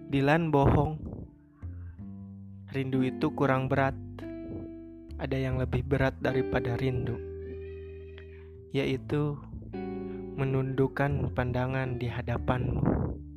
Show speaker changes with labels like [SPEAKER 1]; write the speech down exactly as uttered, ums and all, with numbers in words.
[SPEAKER 1] Dilan bohong. Rindu itu kurang berat. Ada yang lebih berat daripada rindu, yaitu menundukkan pandangan di hadapanmu.